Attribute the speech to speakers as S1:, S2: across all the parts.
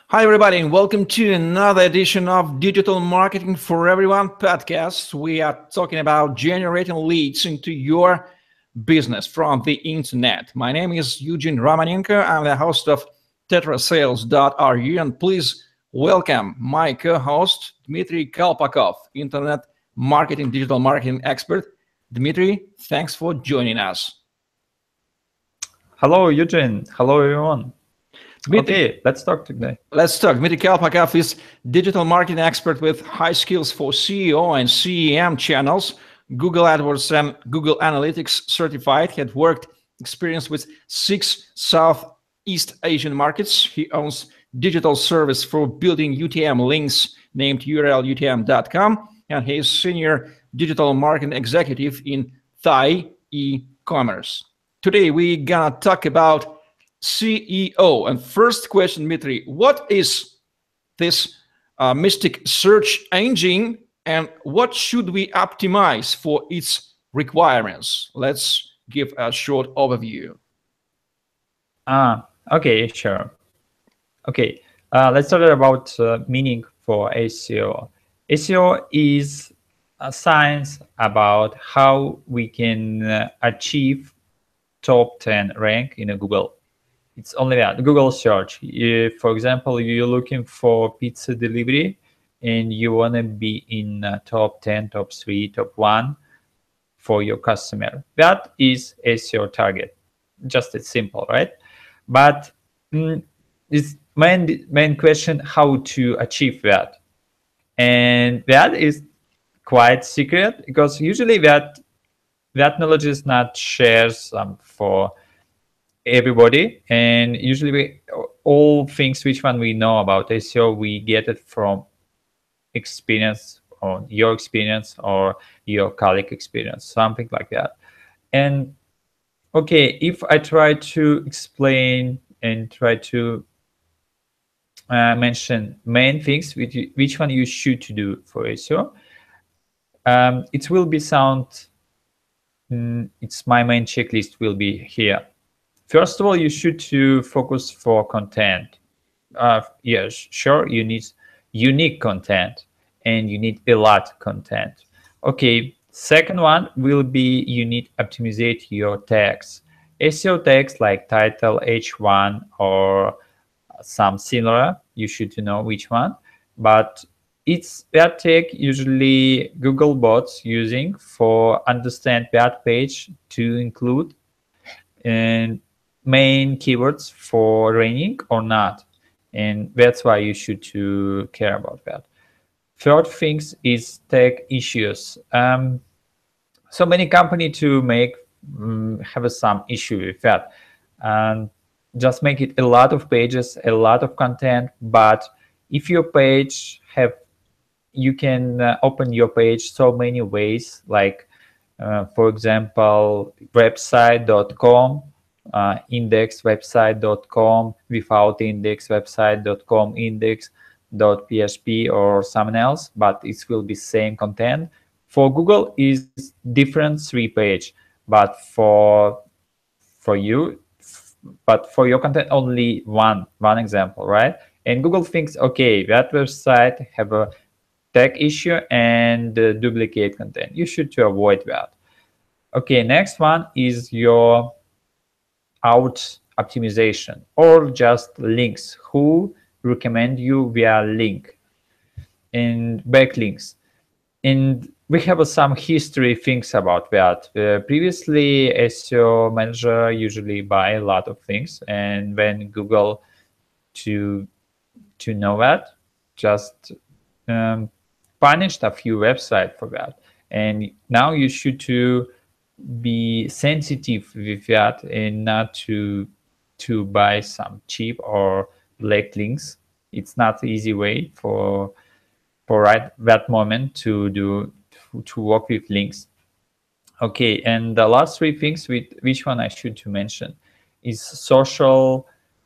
S1: Hi, everybody, and welcome to another edition of Digital Marketing for Everyone podcast. We are talking about generating leads into your business from the internet. My name is Eugene Romanenko. I'm the host of tetrasales.ru, and please welcome my co-host, Dmitry Kalpakov, internet marketing, digital marketing expert. Dmitry, thanks for joining us.
S2: Hello, Eugene. Hello, everyone.
S1: Dmitry,
S2: Okay, let's talk today.
S1: Let's talk. Dmitry Kalpakov is digital marketing expert with high skills for CEO and CEM channels, Google AdWords and Google Analytics certified. He had worked experience with 6 Southeast Asian markets. He owns digital service for building UTM links named urlutm.com, and he is senior digital marketing executive in Thai e-commerce. Today we're gonna talk about CEO. And first question, Dmitry, what is this Mystic search engine and what should we optimize for its requirements? Let's give a short overview.
S2: Okay, sure. Okay, let's talk about meaning for SEO. SEO is a science about how we can achieve top 10 rank in a Google. It's only that Google search. If, for example, you're looking for pizza delivery and you want to be in top 10, top 3, top 1 for your customer, that is SEO target. Just as simple, right? But it's main question how to achieve that. And that is quite secret because usually that knowledge is not shared for everybody, and usually all things which one we know about SEO we get it from experience, or your experience or your colleague experience, something like that. And okay, if I try to explain and try to mention main things which one you should to do for SEO, it will be sound it's my main checklist will be here. First of all, you should to focus for content. Yes, sure, you need unique content and you need a lot content. Okay, second one will be you need optimize your tags. SEO tags like title, H1 or some similar, you should know which one. But it's that tag usually Google bots using for understand that page to include and main keywords for ranking or not, and that's why you should to care about that. Third things is tag issues. So many company to make have some issue with that, and just make it a lot of pages, a lot of content. But if your page have, you can open your page so many ways, like for example website.com, index website.com, without index website.com, index.php or something else, but it will be same content. For Google is different 3-page, but for you, but for your content only one example, right? And Google thinks, okay, that website have a tag issue and duplicate content. You should to avoid that. Okay, next one is your out optimization or just links. Who recommend you via link and backlinks? And we have some history things about that. Previously, SEO manager usually buy a lot of things, and when Google to know that, just punished a few websites for that. And now you should to be sensitive with that and not to buy some cheap or black links. It's not the easy way for right that moment to do to work with links. Okay, and the last 3 things with which one I should to mention is social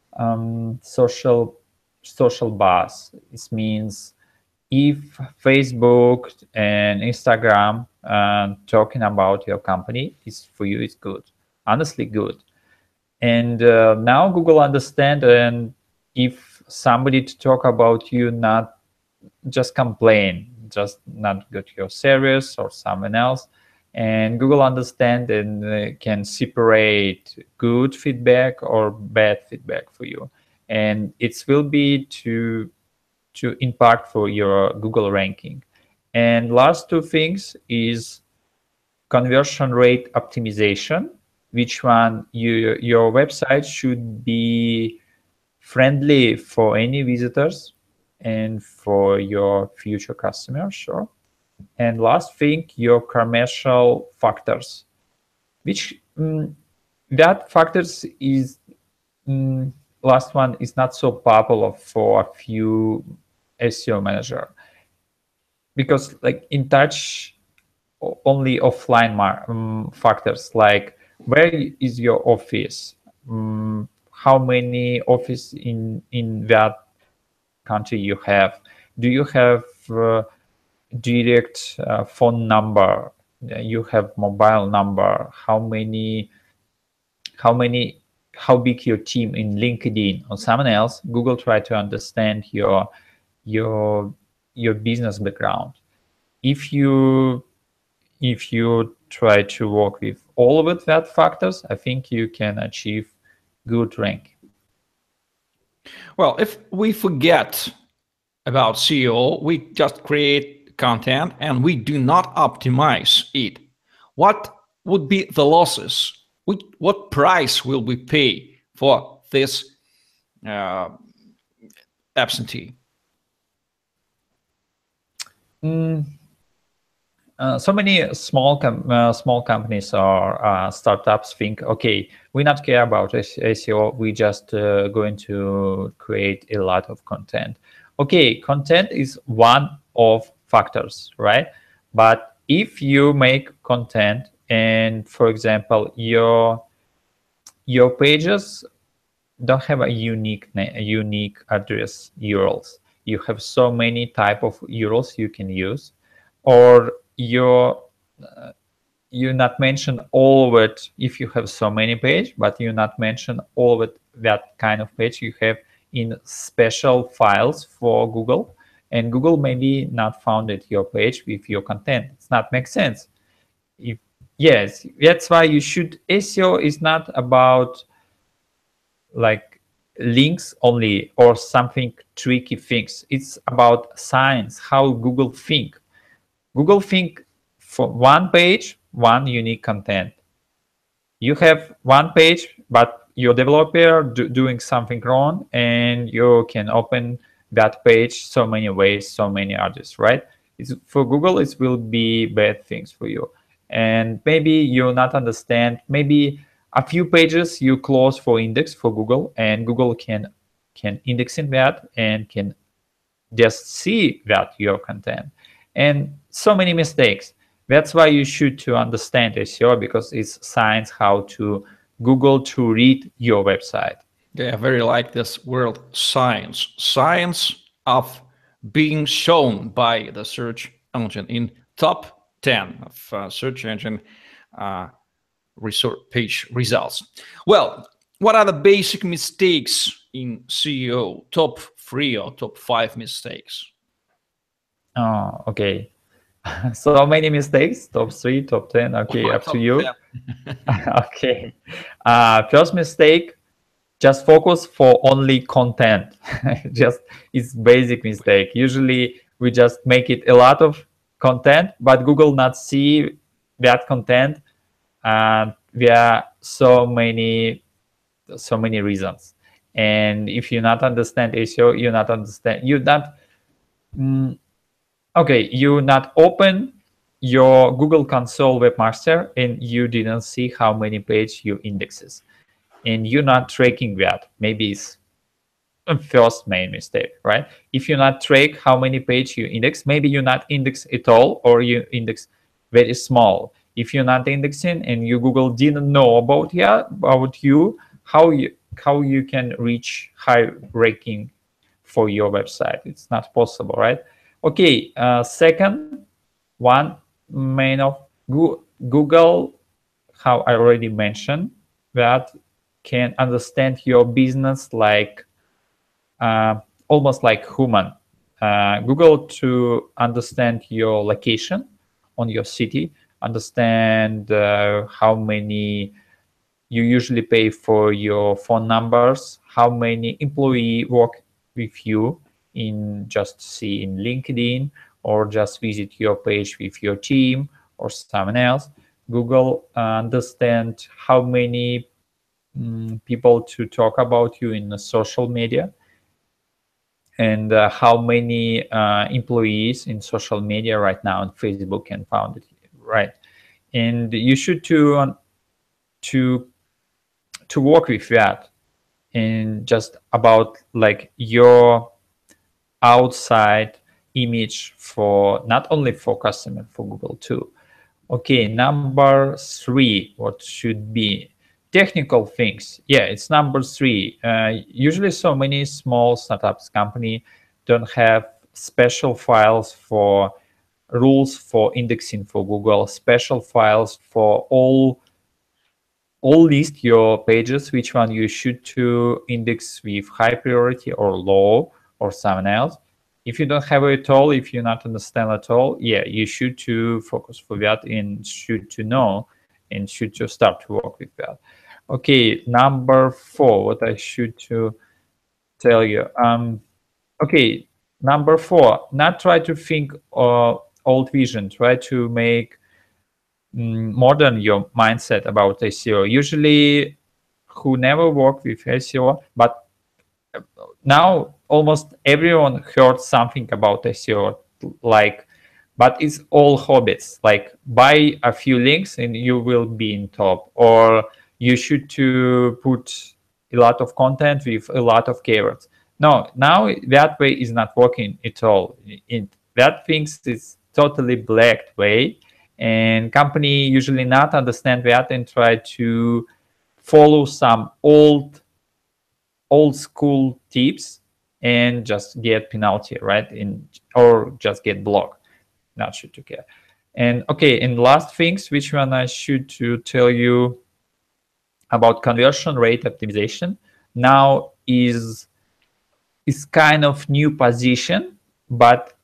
S2: buzz. It means if Facebook and Instagram talking about your company is for you, it's good, honestly good. And now Google understand, and if somebody to talk about you, not just complain, just not go to your service or someone else. And Google understand and can separate good feedback or bad feedback for you. And it will be to impact for your Google ranking. And last two things is conversion rate optimization, which one your website should be friendly for any visitors and for your future customers, sure. And last thing, your commercial factors, which that factors is last one is not so popular for a few SEO manager, because like in touch only offline factors, like where is your office, how many office in that country you have, do you have direct phone number, you have mobile number, how big your team in LinkedIn or someone else. Google try to understand your business background. If you try to work with all of that factors, I think you can achieve good rank.
S1: Well, if we forget about SEO, we just create content and we do not optimize it, what would be the losses? What price will we pay for this absentee?
S2: So many small companies or startups think, okay, we not care about SEO, we just going to create a lot of content. Okay, content is one of factors, right? But if you make content and, for example, your pages don't have a unique address URLs, you have so many type of URLs you can use, or you not mention all of it if you have so many page, but you not mention all of it, that kind of page you have in special files for Google, and Google maybe not founded your page with your content. It's not make sense. Yes, that's why you should. SEO is not about like links only or something tricky things. It's about science, how Google think. Google think for one page, one unique content. You have one page, but your developer doing something wrong, and you can open that page so many ways, so many others, right? For Google, it will be bad things for you. And maybe you not understand, maybe a few pages you close for index for Google, and Google can index in that and can just see that your content. And so many mistakes. That's why you should to understand SEO, because it's science how to Google to read your website.
S1: Yeah, I very like this word science of being shown by the search engine in top 10 of search engine page results. Well, what are the basic mistakes in SEO? Top 3 or top 5 mistakes?
S2: Oh, okay. So many mistakes. Top 3, top 10. Okay, up to you. Okay. First mistake, just focus for only content. Just it's basic mistake. Usually we just make it a lot of content, but Google not see that content, and there are so many reasons. And if you not understand SEO, you not okay, you not open your Google Console Webmaster and you didn't see how many page you indexes, and you're not tracking that. Maybe it's a first main mistake, right? If you not track how many page you index, maybe you not index at all, or you index very small. If you're not indexing and you Google didn't know about you, how you can reach high ranking for your website? It's not possible, right? Okay, second one, main of Google, how I already mentioned, that can understand your business like almost like human. Google to understand your location on your city, understand how many you usually pay for your phone numbers, how many employee work with you in just see in LinkedIn, or just visit your page with your team or someone else. Google understand how many people to talk about you in the social media, and how many employees in social media right now on Facebook can found it, right? And you should to work with that, and just about like your outside image for not only for customer, for Google too. Okay, number 3, what should be technical things? Yeah, it's number 3. Usually so many small startups company don't have special files for rules for indexing for Google, special files for all list your pages, which one you should to index with high priority or low or someone else. If you don't have it at all, if you not understand at all, yeah, you should to focus for that and should to know and should to start to work with that. Okay, number 4, what I should to tell you. Okay, number 4, not try to think old vision, try to make modern your mindset about SEO. Usually who never work with SEO, but now almost everyone heard something about SEO, like, but it's all hobbies, like buy a few links and you will be in top, or you should to put a lot of content with a lot of keywords. No, now that way is not working at all. That things is totally black way, and company usually not understand that and try to follow some old school tips and just get penalty, right? Or just get blocked. Not should to care. And okay, and last things, which one I should to tell you about conversion rate optimization. Now is kind of new position, but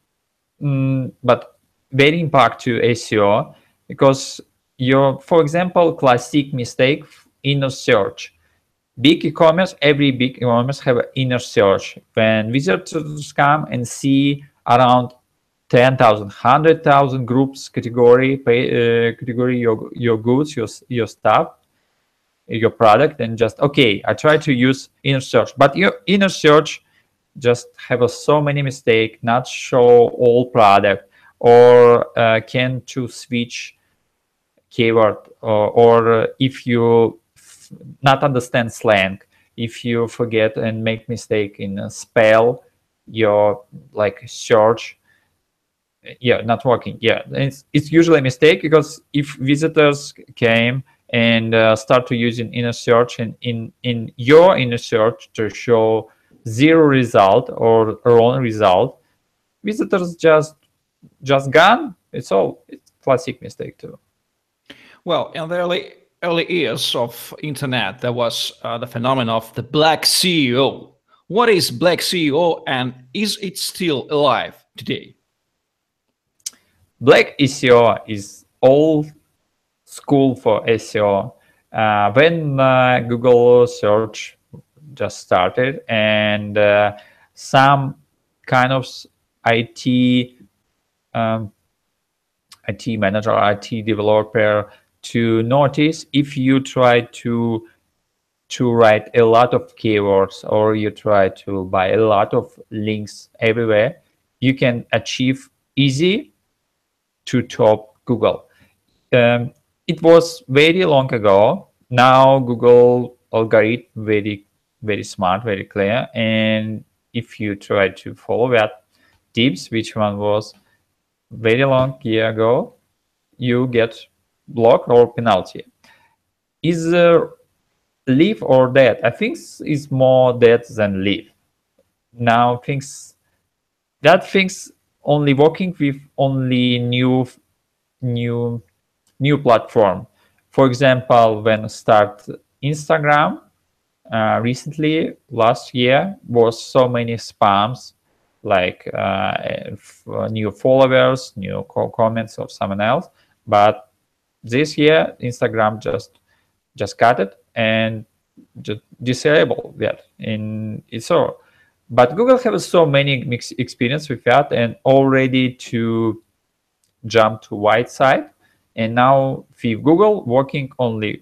S2: very impact to SEO, because for example, classic mistake, inner search. Big e-commerce, every big e-commerce have an inner search. When visitors come and see around 10,000, 100,000 groups, category your goods, your stuff, your product, and just, okay, I try to use inner search. But your inner search just have so many mistakes, not show all product, or can to switch keyword, or if you not understand slang, if you forget and make mistake in spell your like search, yeah, not working. Yeah, it's usually a mistake, because if visitors came and start to using inner search, and in your inner search to show 0 result or wrong result, visitors just gone. It's classic mistake too.
S1: Well, in the early years of internet, there was the phenomenon of the black SEO. What is black SEO, and is it still alive today?
S2: Black SEO is old school for SEO. When Google search just started, and some kind of IT manager, IT developer to notice, if you try to write a lot of keywords, or you try to buy a lot of links everywhere, you can achieve easy to top Google. It was very long ago. Now Google algorithm very smart, very clear, and if you try to follow that tips, which one was very long year ago, you get block or penalty. Is live or dead? I think is more dead than live. Now things only working with only new platform. For example, when start Instagram, recently, last year, was so many spams, like new followers, new comments of someone else. But this year, Instagram just cut it and just disable that. In so, but Google has so many mixed experience with that, and already to jump to white side. And now with Google working only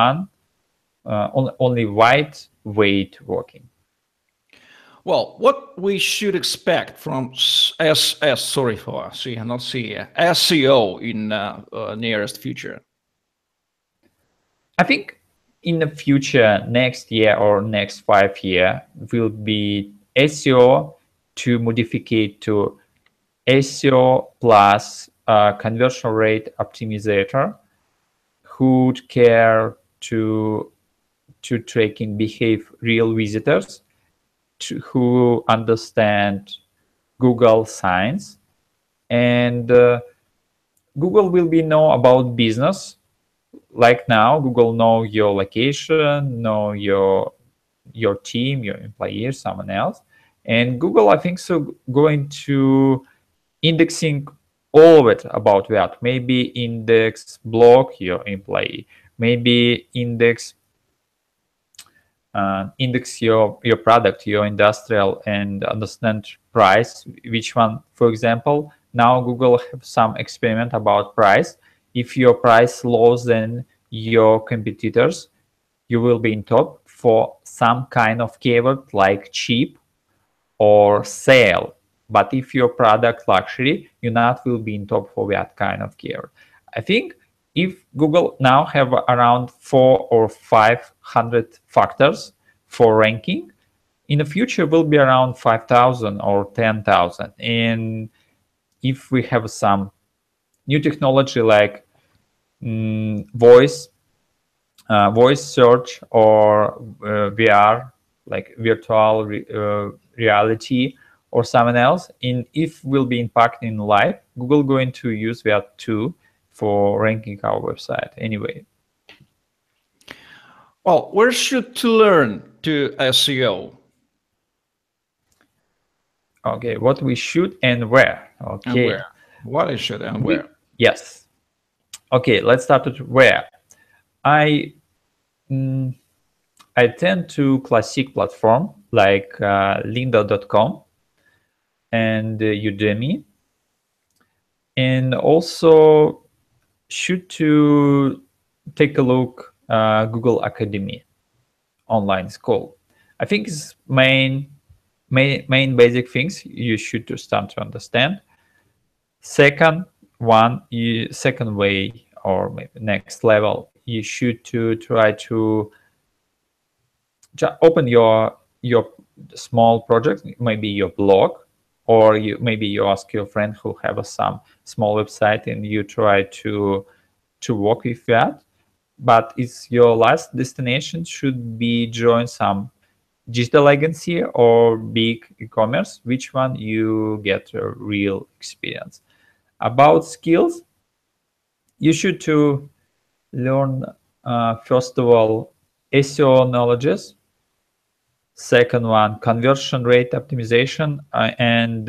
S2: only white way to working.
S1: Well, what we should expect from sorry for C, not C, SEO in nearest future?
S2: I think in the future, next year or next 5 year, will be SEO to modify to SEO plus conversion rate optimizer who care to tracking behave real visitors who understand Google science, and Google will be know about business. Like now, Google know your location, know your team, your employees, someone else, and Google, I think so, going to indexing all of it about that. Maybe index blog your employee, maybe index your product, your industrial, and understand price, which one. For example, now Google have some experiment about price. If your price lower than your competitors, you will be in top for some kind of keyword like cheap or sale. But if your product luxury, you not will be in top for that kind of keyword. I think if Google now have around 400 or 500 factors for ranking, in the future will be around 5,000 or 10,000. And if we have some new technology like voice search or VR, like virtual reality or someone else, if will be impacting live, Google going to use that too for ranking our website anyway.
S1: Well, where should to learn to SEO?
S2: Okay, what we should and where. Okay.
S1: And where? What is it and where?
S2: Yes. Okay, let's start with where. I tend to classic platform like lynda.com and Udemy, and also should to take a look Google Academy online school. I think it's main basic things you should to start to understand. Second way or maybe next level, you should to try to open your small project, maybe your blog, or maybe you ask your friend who have some small website and you try to work with that. But it's your last destination should be join some digital agency or big e-commerce, which one you get a real experience. About skills, you should to learn first of all SEO knowledges. Second one, conversion rate optimization and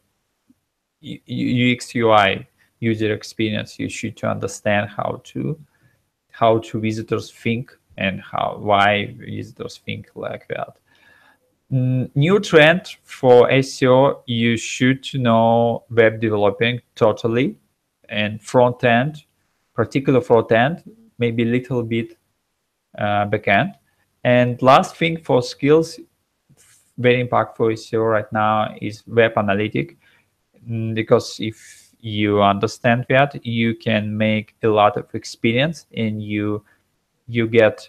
S2: UX UI user experience. You should to understand how to visitors think and why visitors think like that. New trend for SEO, you should know web developing totally, and front end, particular front end, maybe a little bit back end. And last thing for skills, very impactful SEO right now is web analytic, because if you understand that, you can make a lot of experience and you get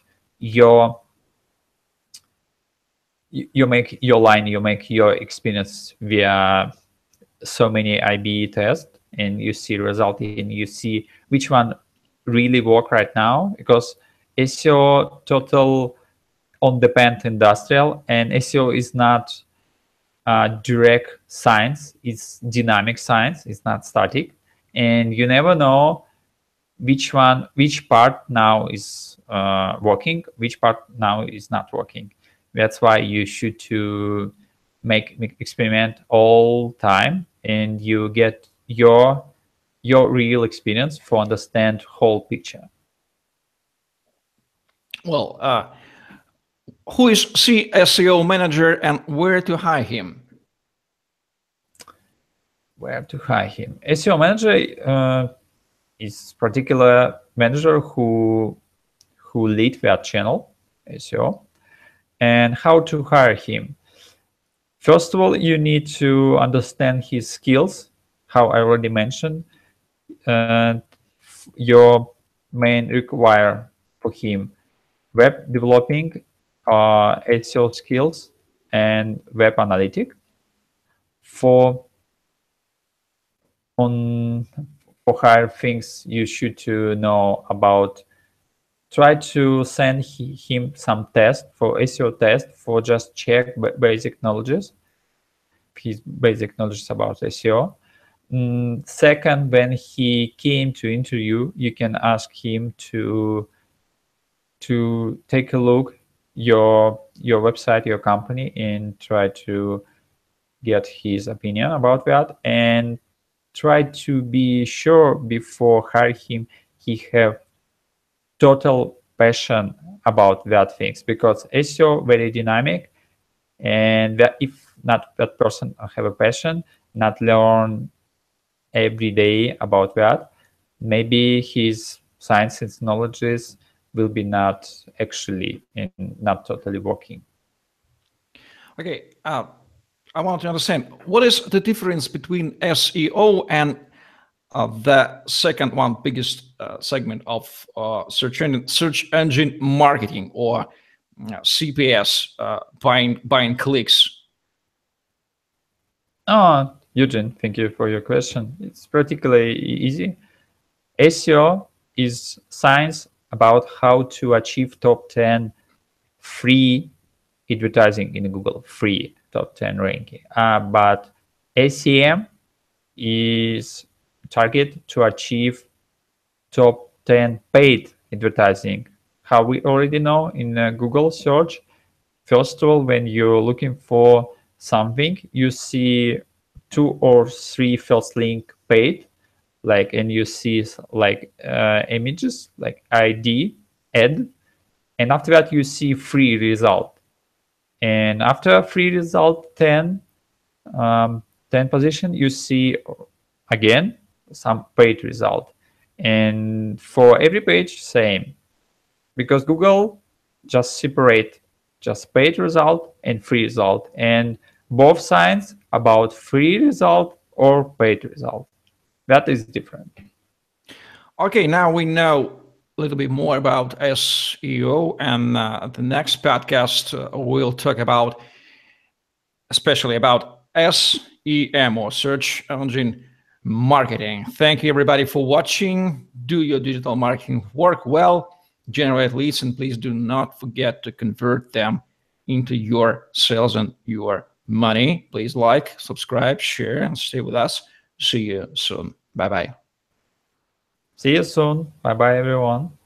S2: you make your experience via so many IB tests, and you see result and you see which one really work right now, because SEO total on depend industrial, and SEO is not direct science, it's dynamic science, it's not static, and you never know which part now is working, which part now is not working. That's why you should to make experiment all time, and you get your real experience for understand whole picture.
S1: Well, who is SEO manager and where to hire him?
S2: Where to hire him? SEO manager is particular manager who lead that channel SEO. And how to hire him? First of all, you need to understand his skills, how I already mentioned. Your main require for him web developing, SEO skills, and web analytic. For hire things you should to know about, try to send him some test for SEO test for just check basic knowledges, his basic knowledge about SEO. Second, when he came to interview, you can ask him to take a look your website, your company, and try to get his opinion about that, and try to be sure before hire him he have total passion about that things, because SEO very dynamic, and that if not that person have a passion, not learn every day about that, maybe his science and knowledges will be not actually and not totally working.
S1: Okay, I want to understand, what is the difference between SEO and the second one biggest segment of search engine marketing, or CPS, buying clicks?
S2: Oh, Eugene, thank you for your question. It's particularly easy. SEO is science about how to achieve top 10 free advertising in Google, free top 10 ranking. But SEM is target to achieve top 10 paid advertising. How we already know in Google search, first of all, when you're looking for something, you see 2 or 3 first link paid, like, and you see like images like ID, ad, and after that you see free result. And after free result 10 position, you see again some paid result. And for every page, same, because Google just separate just paid result and free result, and both signs about free result or paid result. That is different.
S1: Okay, now we know a little bit more about SEO, and the next podcast we'll talk about, especially about SEM, or search engine marketing. Thank you everybody for watching. Do your digital marketing work well, generate leads, and please do not forget to convert them into your sales and your money. Please like, subscribe, share, and stay with us. See you soon. Bye-bye.
S2: See you soon. Bye-bye, everyone.